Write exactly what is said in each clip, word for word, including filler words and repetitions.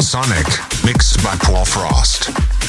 Sonic, mixed by Paul Frost.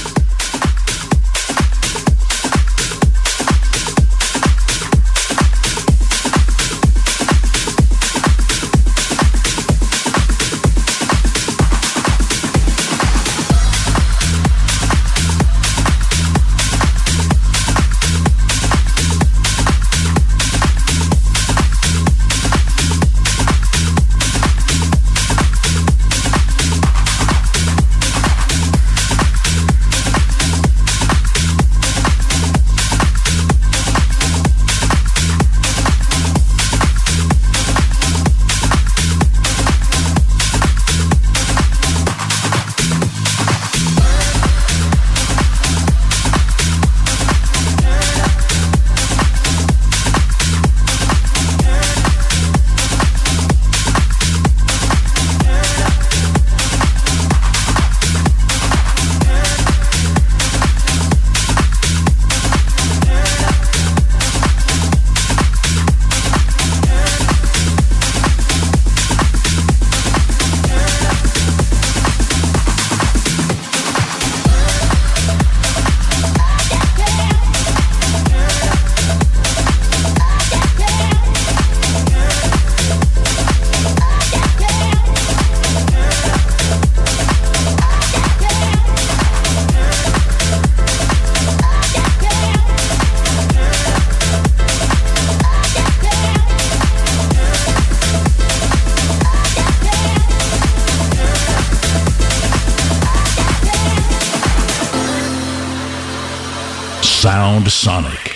Sound Sonic.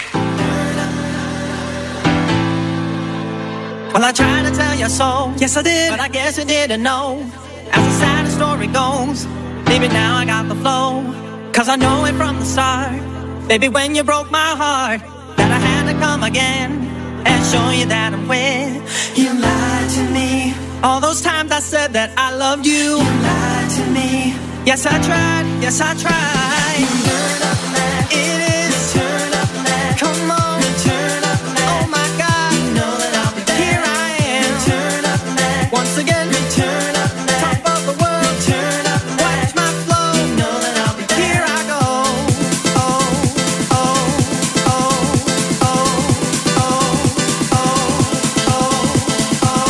Well, I tried to tell you so, yes I did, but I guess you didn't know. As the sad story goes, maybe now I got the flow. Cause I know it from the start, baby, when you broke my heart, that I had to come again and show you that I'm with. You lied to me. All those times I said that I loved you. You lied to me. Yes I tried, yes I tried. You turn up that. It is turn up that. Come on, turn up that. Oh my God, you know that I'll be there. Here I am, turn up that. Once again, turn up that. Top of the world, turn up that. Watch my flow, you know that I'll be there. Here I go. Oh, oh, oh, oh, oh, oh, oh, oh, oh.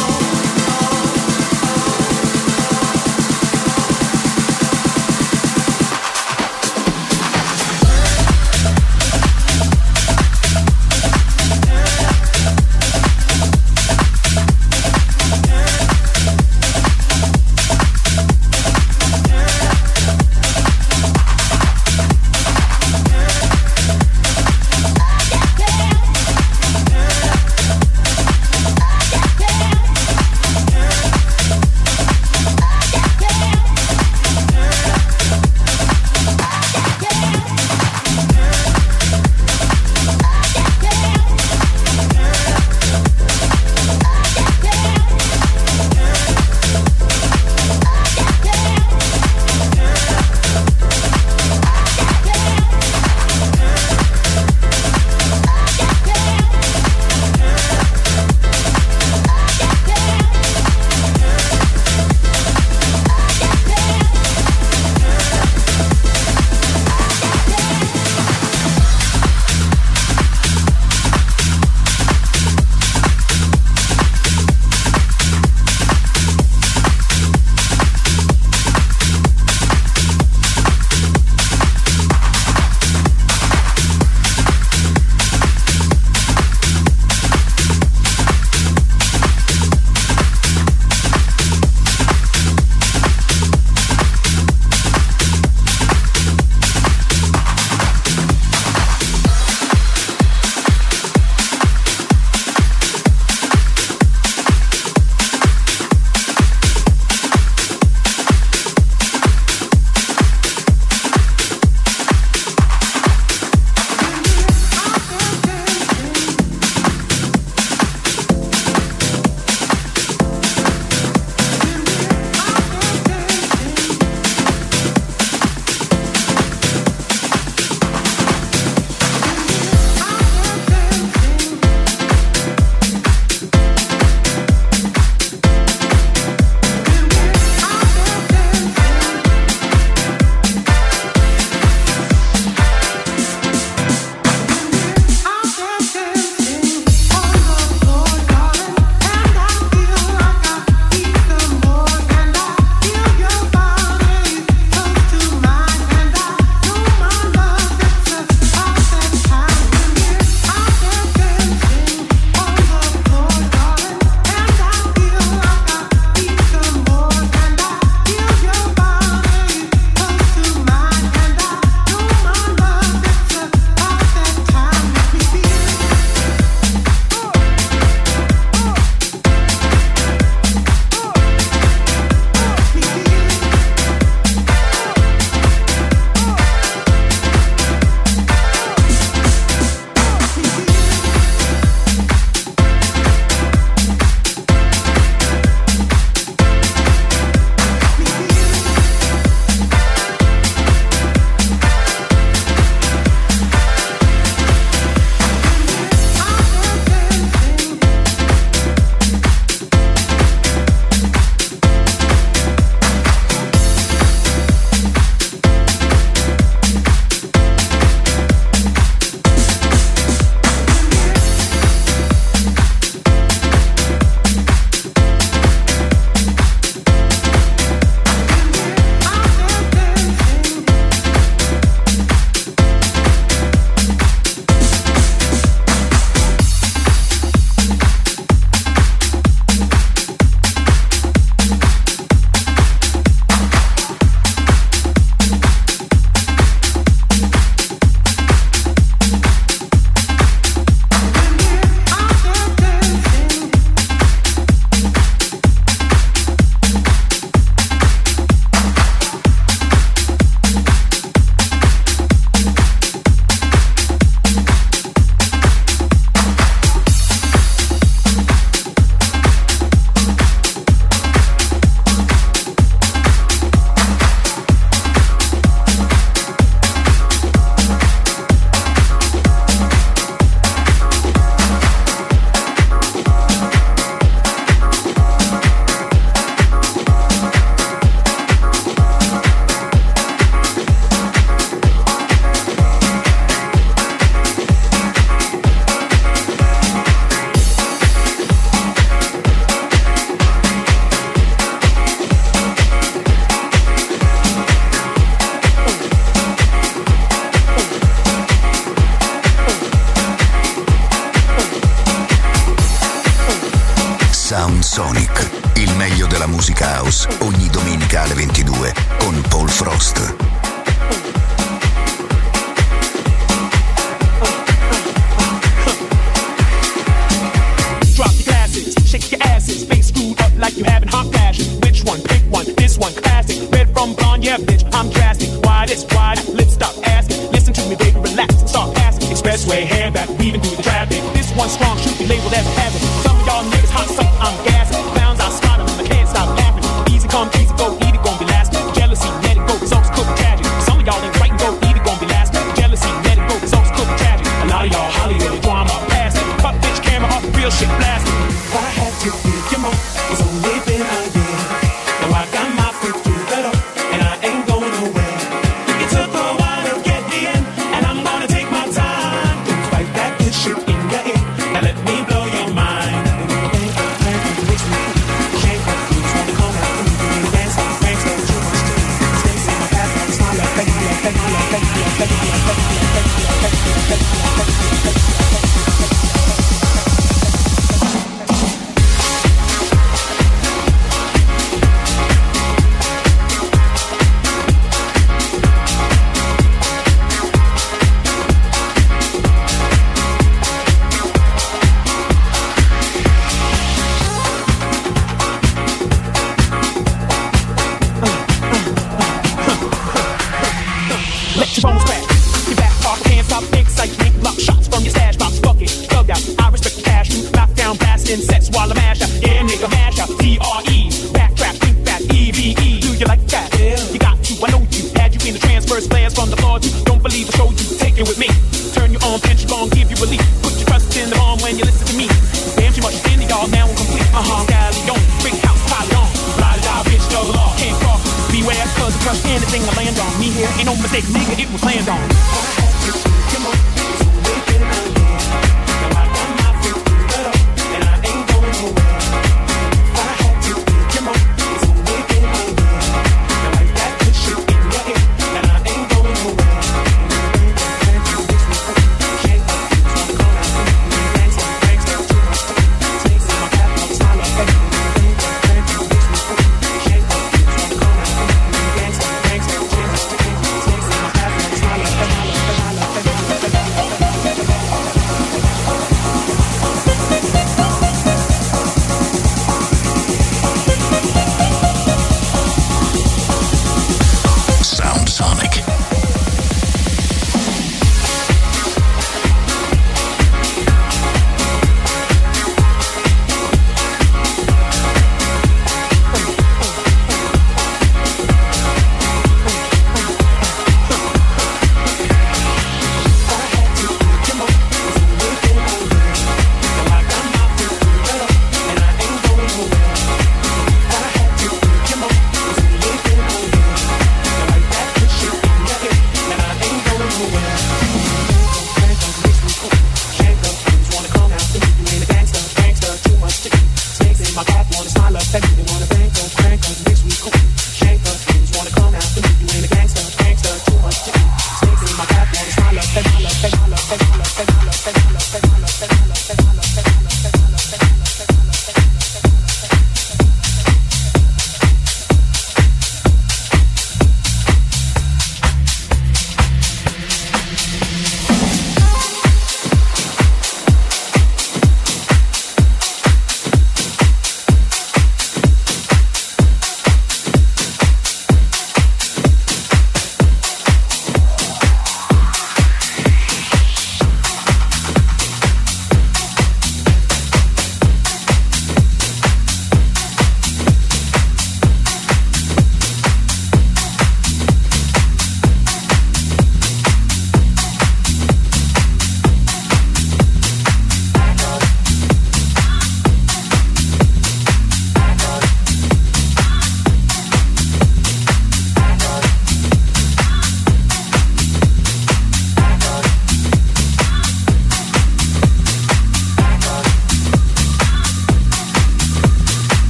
Sonic, il meglio della musica house, ogni domenica alle ventidue con Paul Frost. Drop your glasses, shake your asses, face screwed up like you having hot flashes. Which one? Pick one. This one, classic. Red from blonde, yeah, bitch, I'm drastic. Why this? Why that? Let's stop asking. Listen to me, baby, relax and start asking. Expressway, hair back, weaving through the traffic. This one strong, should be labeled as a hazard. Some of y'all niggas hot, some I'm gassing. Clowns, I spot them, and I can't stop laughing. Easy come, easy go, either gon' be lasting. Jealousy, let it go, results cook tragic. Some of y'all ain't right and go, either gon' be lasting. Jealousy, let it go, results cook tragic. A lot of y'all Hollywood drama, past it. Cut bitch camera off, real shit blasting. I had to give you more, it's only been a year. Now I got my foot through the door, and I ain't going nowhere. It took a while to get me in, and I'm gonna take my time. Don't fight that good shit in your ear, now let me blow your mind. Shake up, you just wanna come out and you can dance, dance, dance, too much to me. Stays in my past, like smile, like thank you, like thank you, like thank you, like thank you, like thank you, like thank you, like thank you, like thank you, like thank you, like thank you.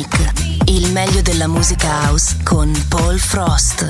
Sonic, il meglio della musica house con Paul Frost.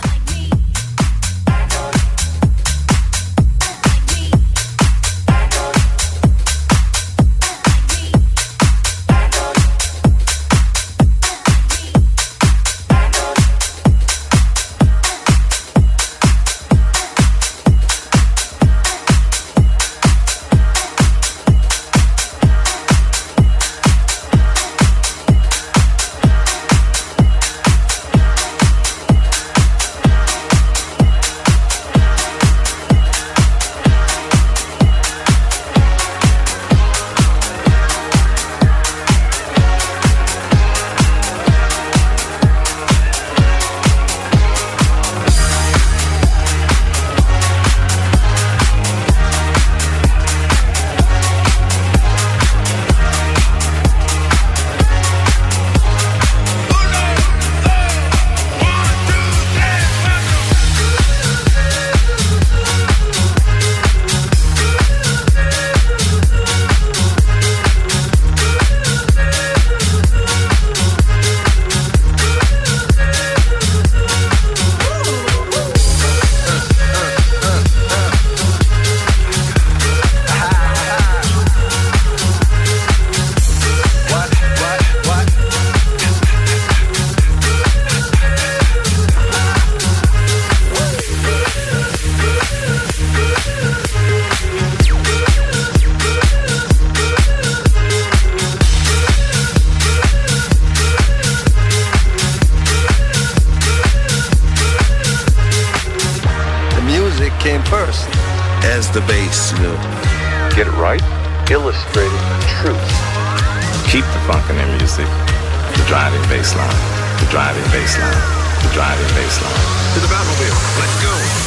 The bass, you know. Get it right, illustrating the truth. Keep the funk in their music. The driving bass line, the driving bass line, the driving bass line. To the Batmobile, let's go.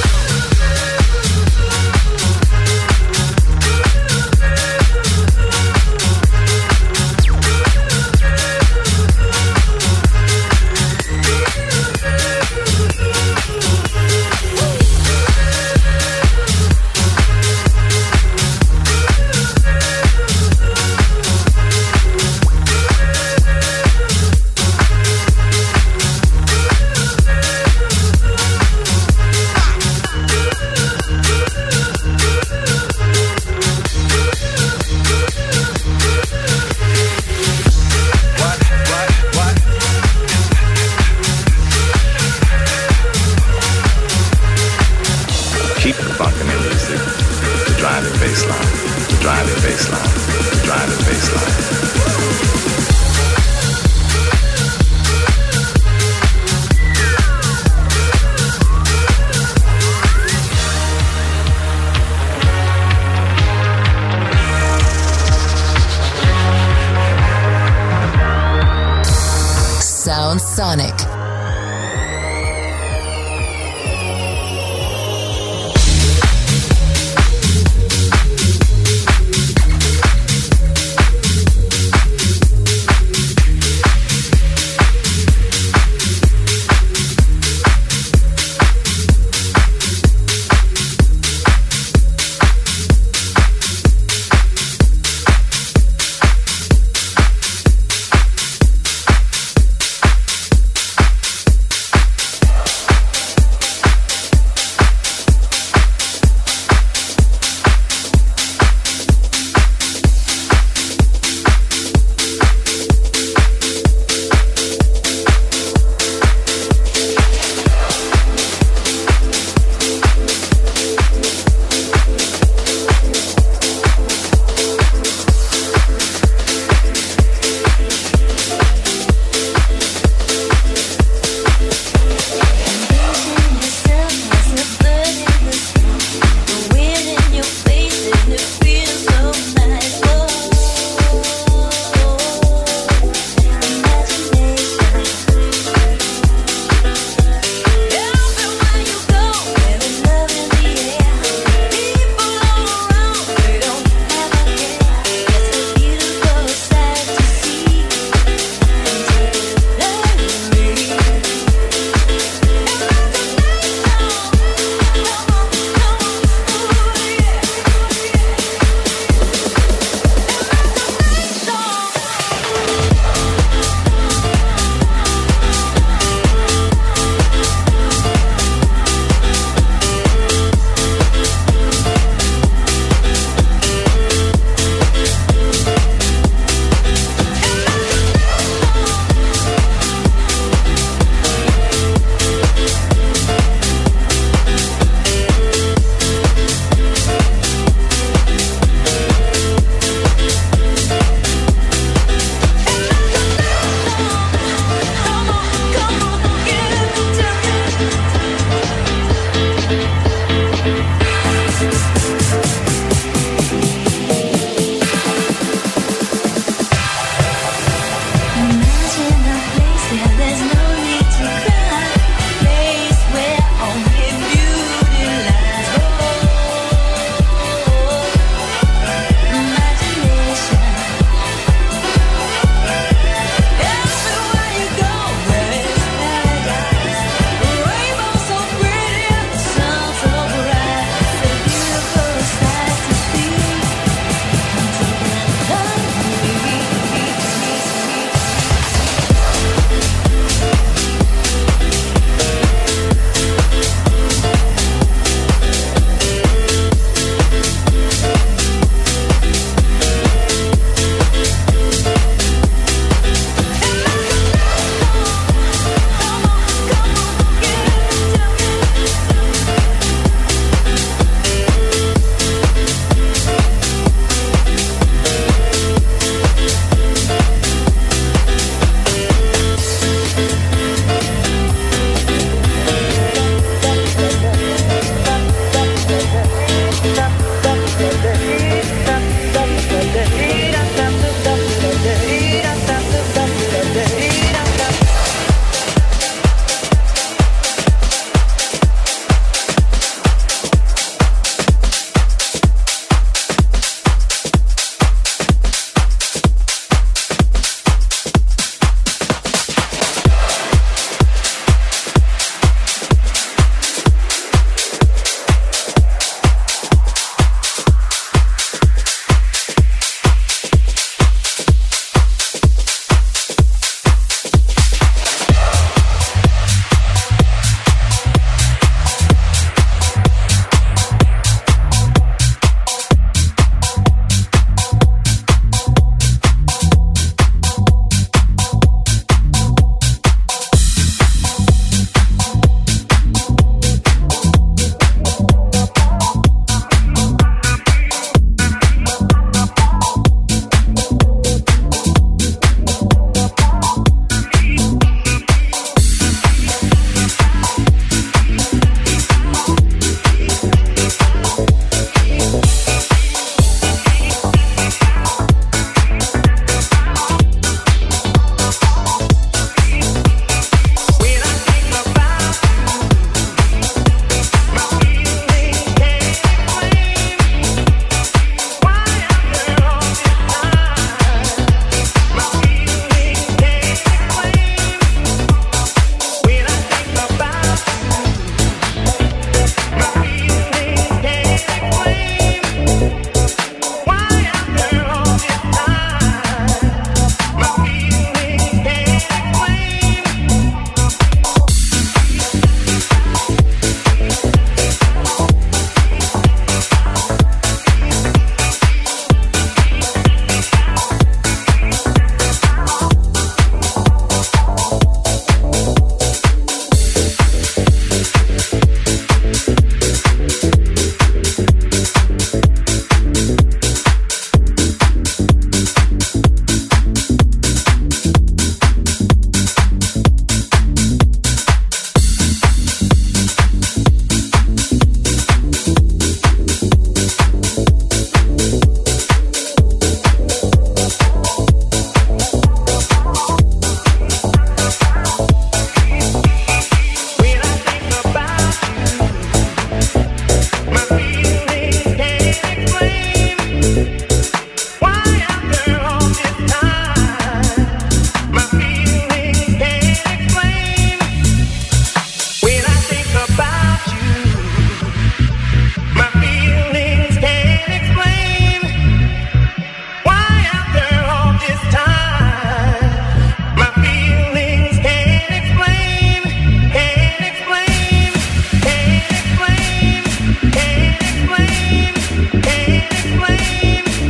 Sound Sonic.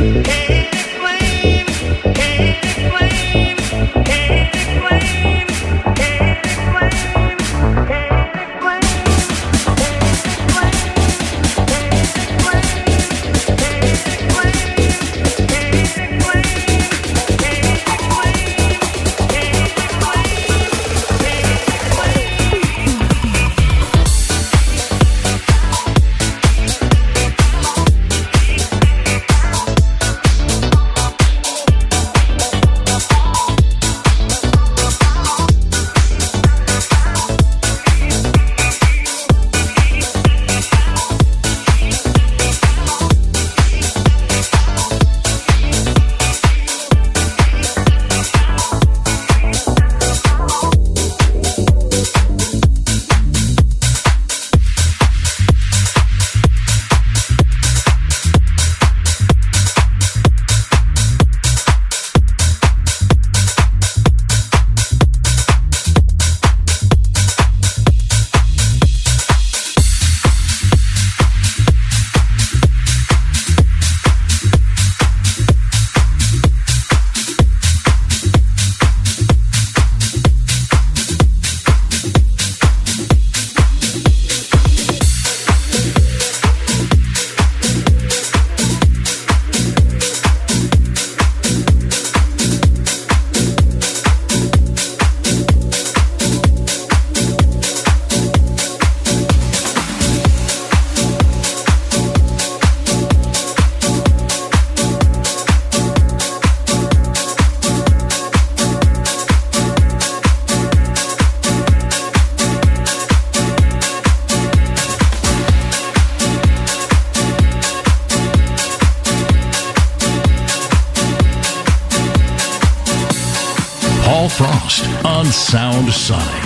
Paul Frost on Sound Sonic.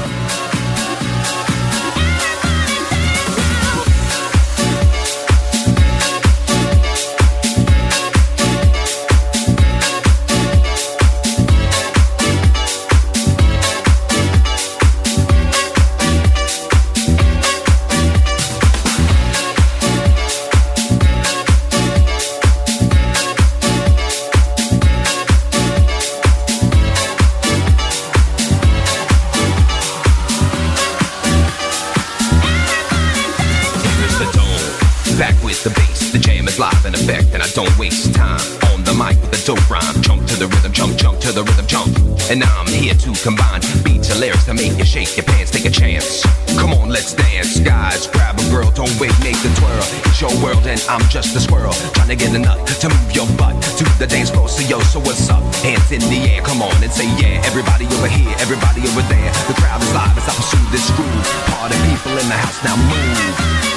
Don't waste time on the mic with a dope rhyme. Jump to the rhythm, jump, jump to the rhythm, jump. And I'm here to combine beats and lyrics to make you shake your pants, take a chance. Come on, let's dance, guys. Grab a girl, don't wait, make the twirl. It's your world and I'm just a squirrel, trying to get a nut to move your butt to the dance floor. So yo, so what's up? Hands in the air, come on and say yeah. Everybody over here, everybody over there. The crowd is live as I pursue this groove. Party people in the house, now move.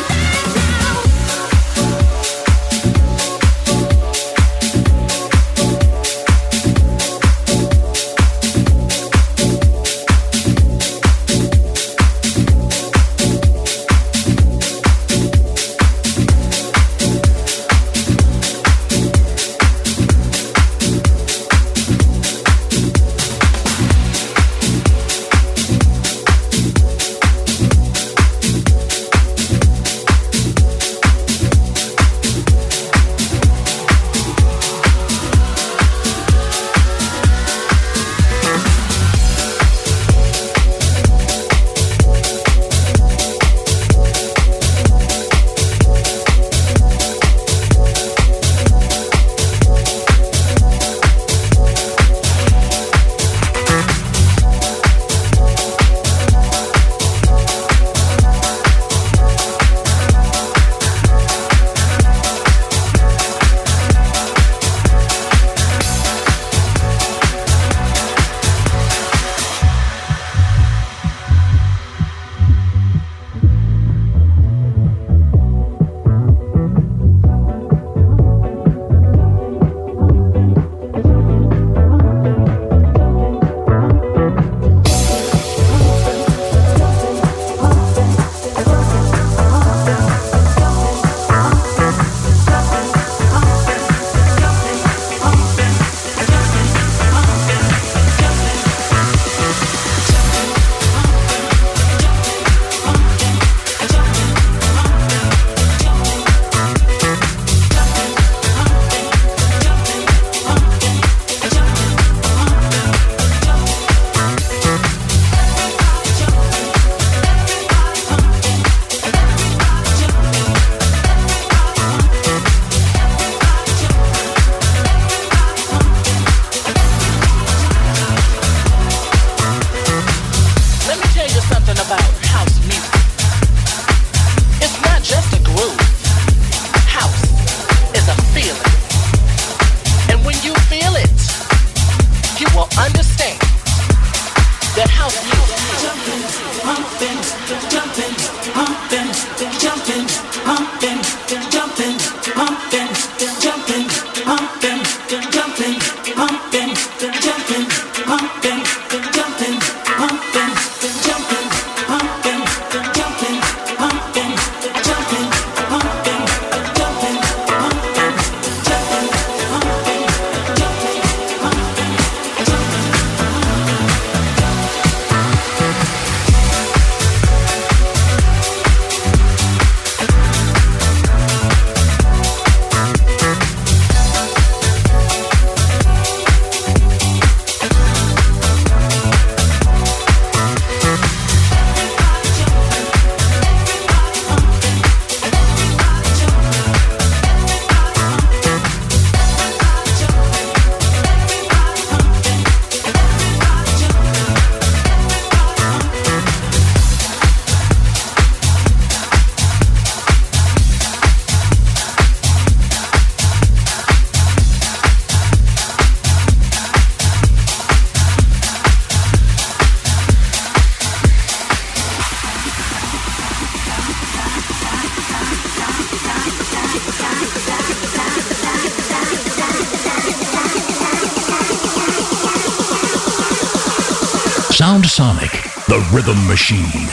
Sound Sonic, the rhythm machine.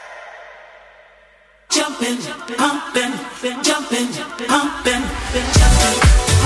Jumping, pumping, jumping, pumping, jumping.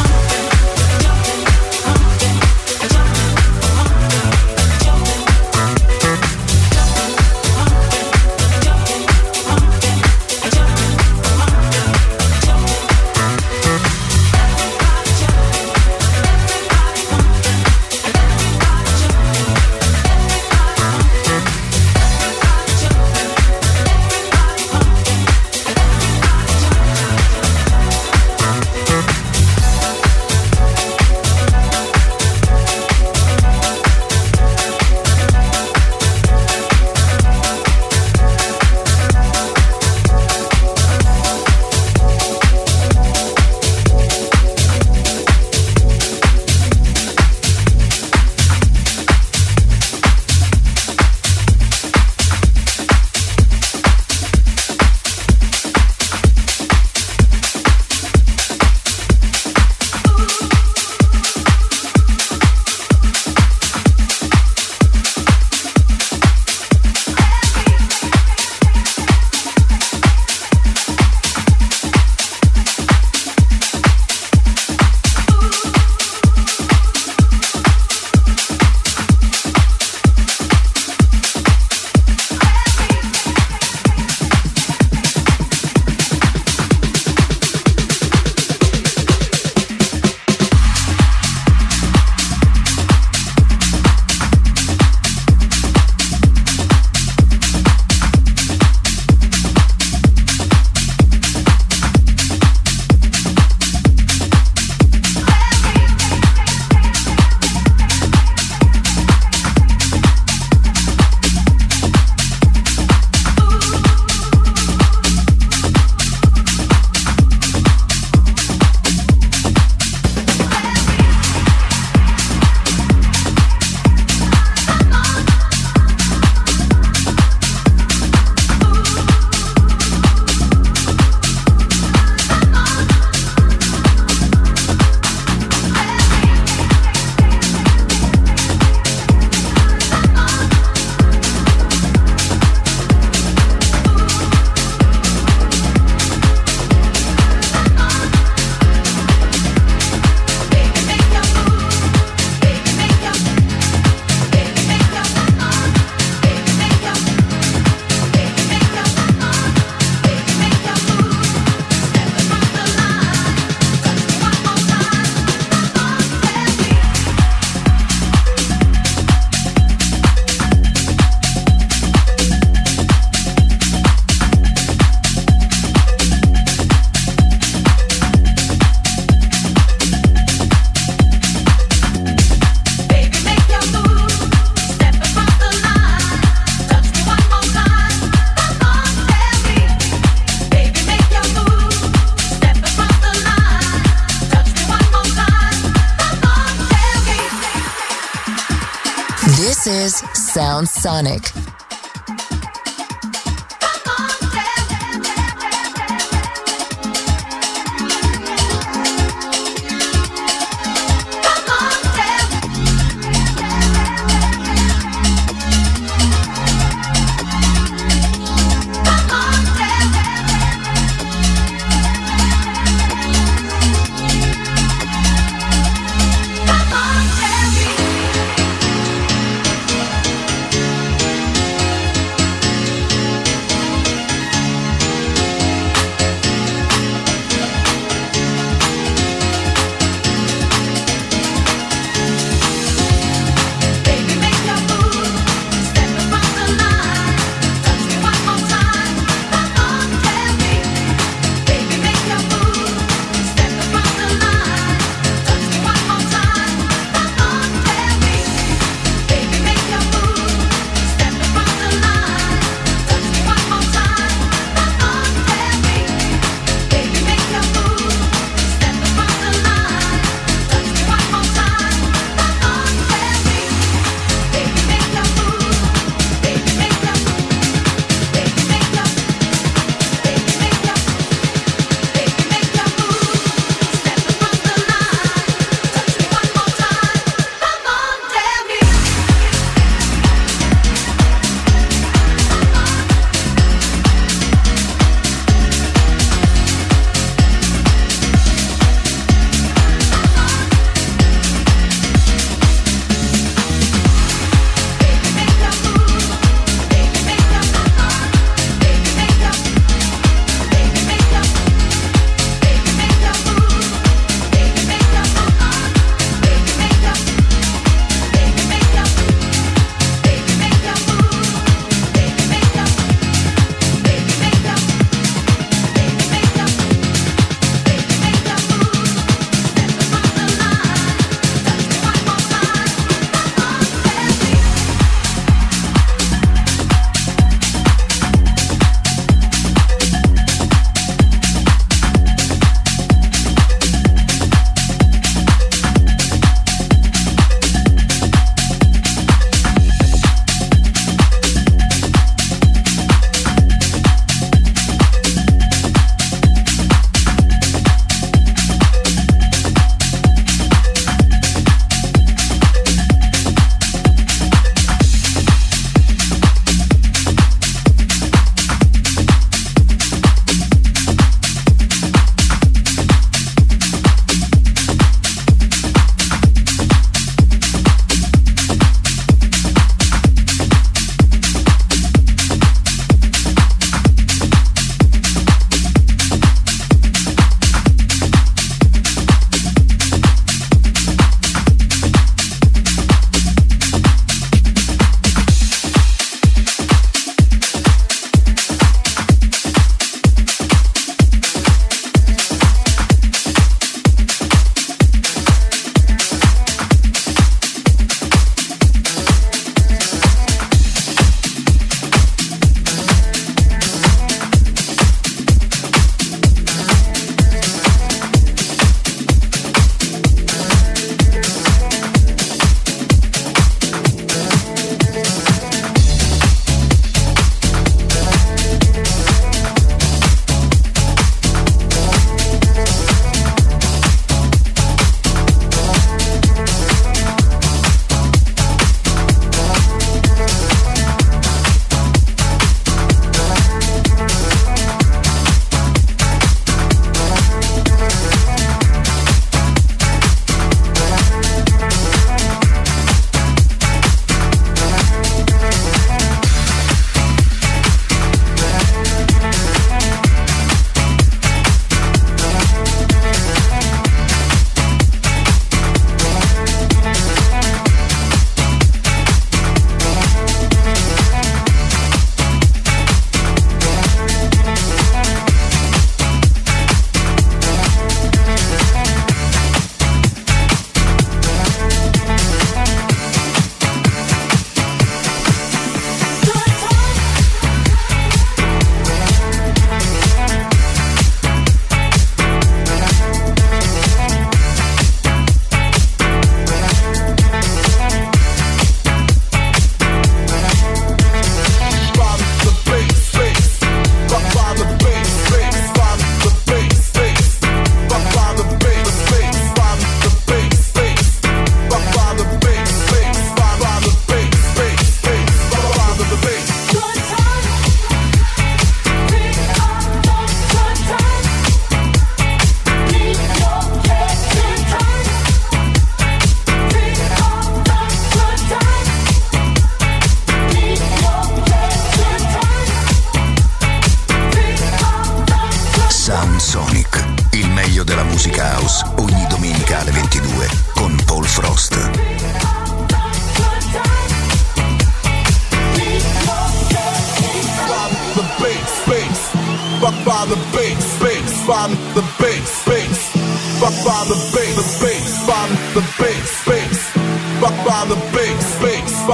This is Sound Sonic.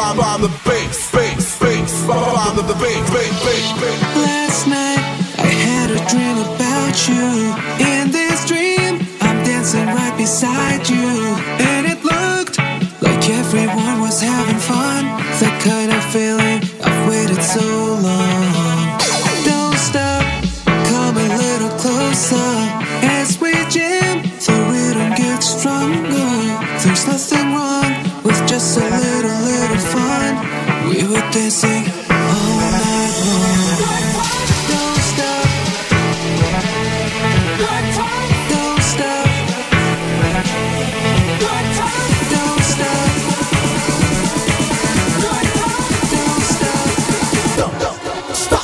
by the bass, bass, bass, by the bass, bass, bass, bass. Last night I had a dream about you. In this dream I'm dancing right beside you, and it looked like everyone was having fun. The kind of feeling I've waited so long. Don't stop, come a little closer as we jam. The rhythm gets stronger. There's nothing wrong with just a little, little fun. We were dancing all night long. Don't stop. Don't stop. Don't stop. Don't stop. Don't stop.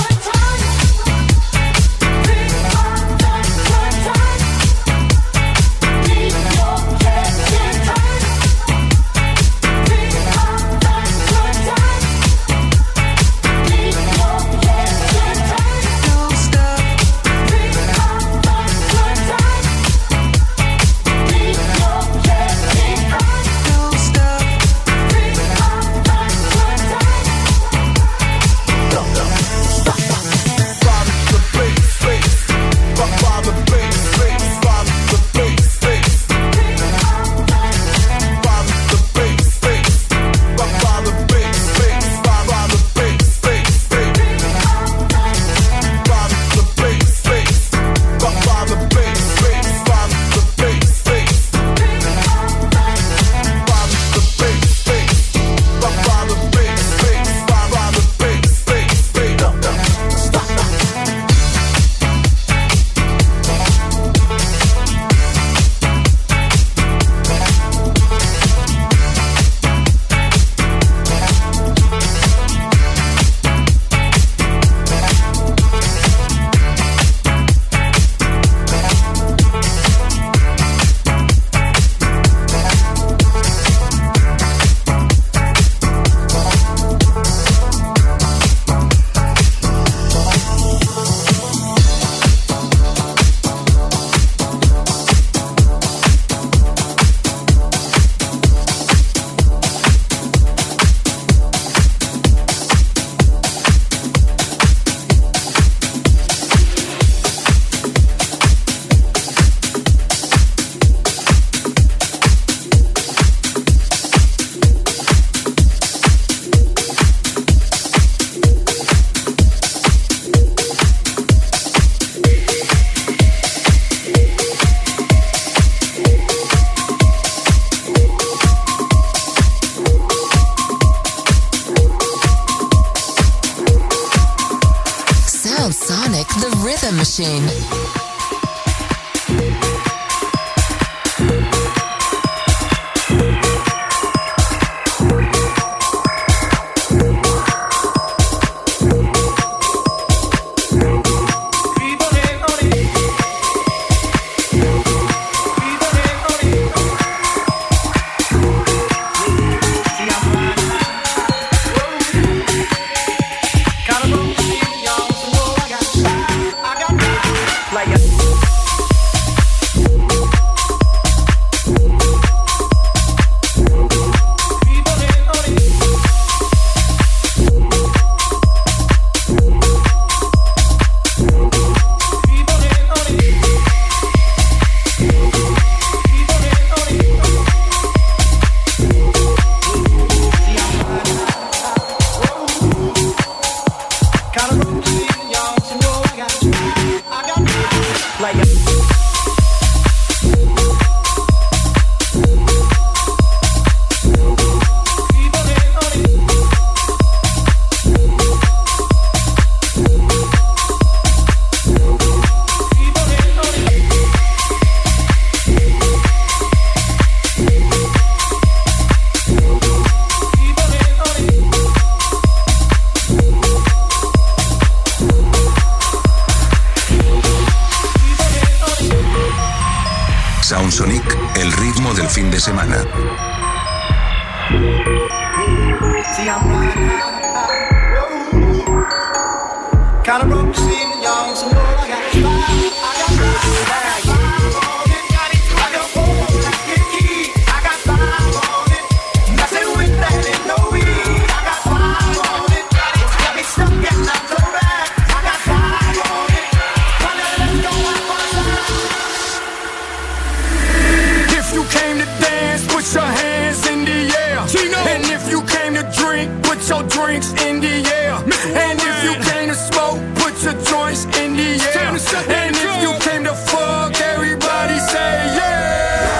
Machine. Soundsonic, el ritmo del fin de semana. I got five on it, messing with that in no way. drinks in the air. And if you came to smoke, put your joints in the air. And if you came to fuck, everybody say yeah.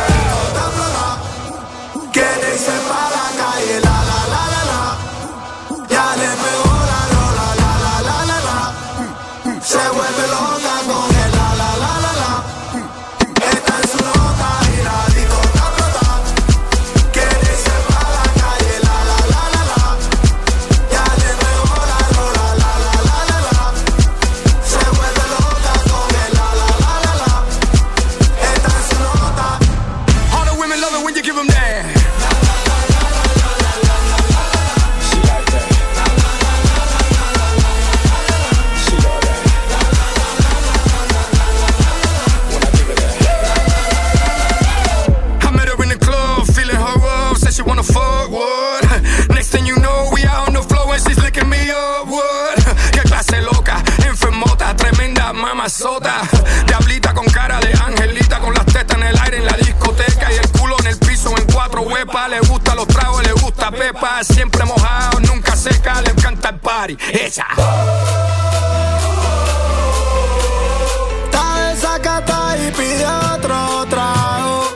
Que dice pa' la calle, la la la la la. Ya le pegó la rola, la la la la la. Se vuelve loca con el la la la la la. Está en su nota y la disco está flota. Que dice pa' la calle, la la la la la. Ya le pegó la rola, la la la la la. Se vuelve loca con el la la la la la. Está en su nota. All the women love it when you give them that. She wanna fuck, what? Next thing you know, we out on the floor and she's licking me up, what? Qué clase loca, enfermota, tremenda mamazota. Diablita con cara de angelita, con las tetas en el aire en la discoteca y el culo en el piso en cuatro huepas. Le gusta los tragos, le gusta pepa, siempre mojado, nunca seca, le encanta el party. Esa. Está desacata y pide otro trago.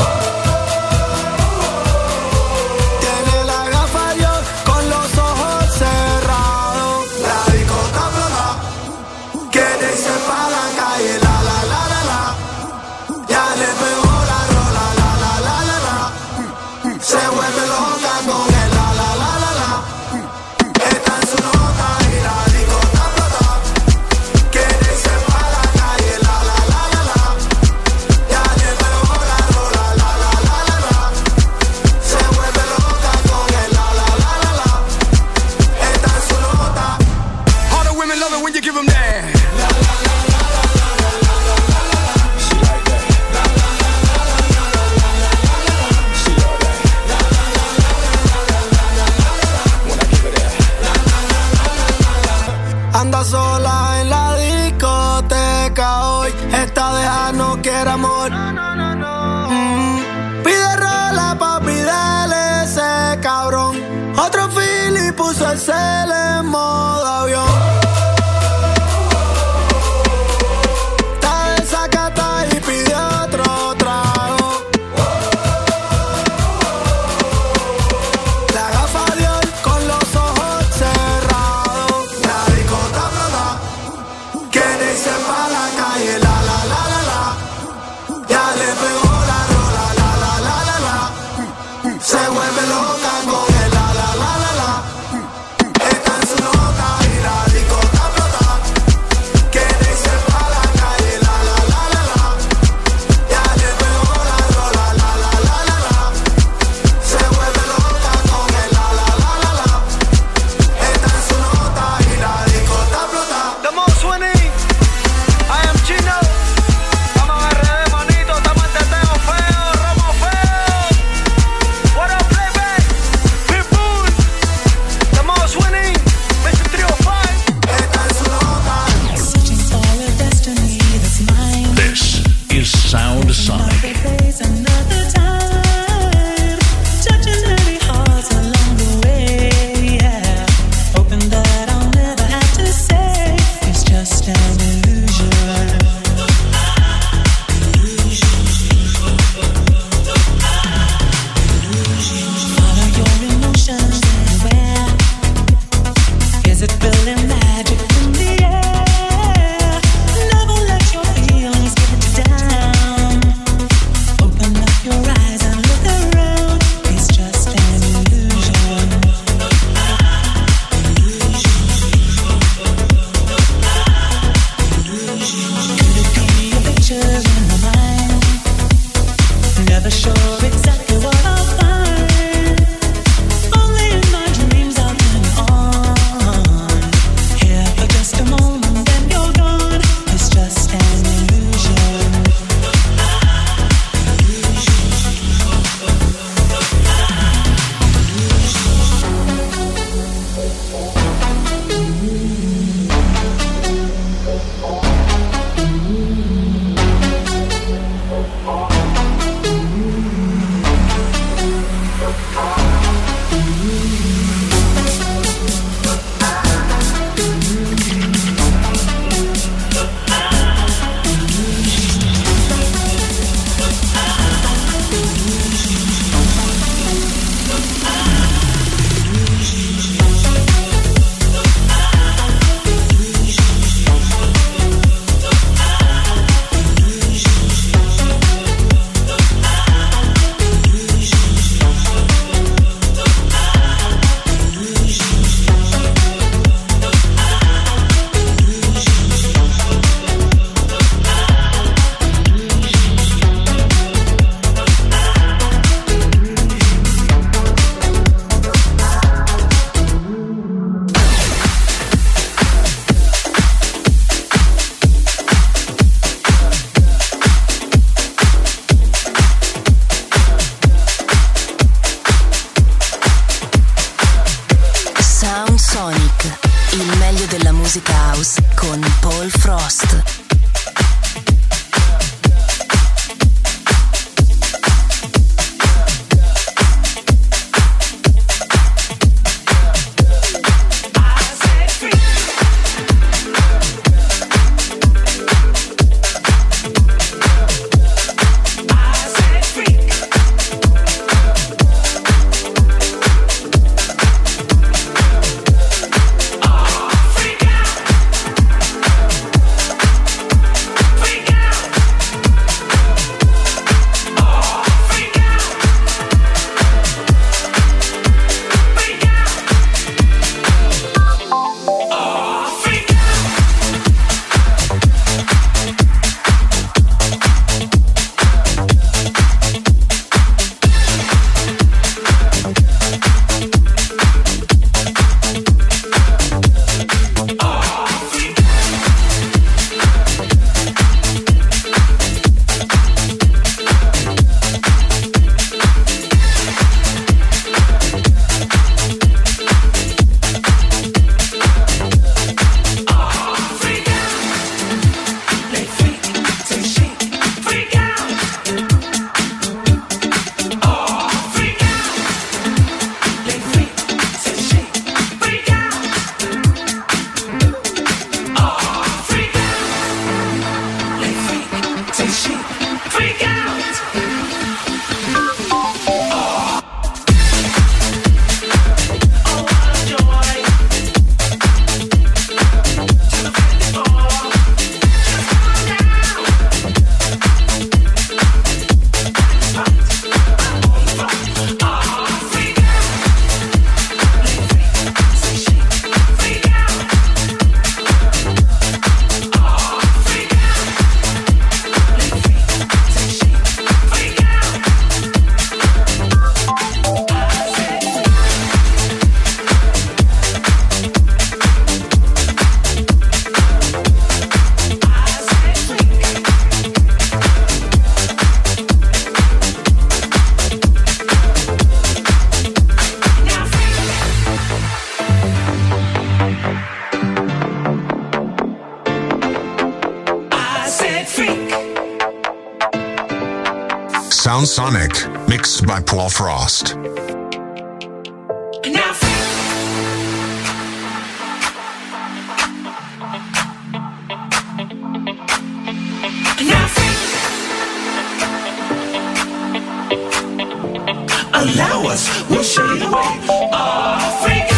Anda sola en la discoteca hoy. Esta deja no quiere amor. Mm. Pide rola, papi, dale ese cabrón. Otro fili puso el cel en modo avión. Está desacata y pide otro trago. La gafa de hoy con los ojos cerrados. La discota flota. Que dice pa' la calle, la la la la la. Ya le pegó la rola, la la la la la. Se vuelve loca con el la la la la la. Está en su nota y meglio della musica house con Paul Frost. Sound Sonic, mixed by Paul Frost. Allow us, we'll show you the way. Africa.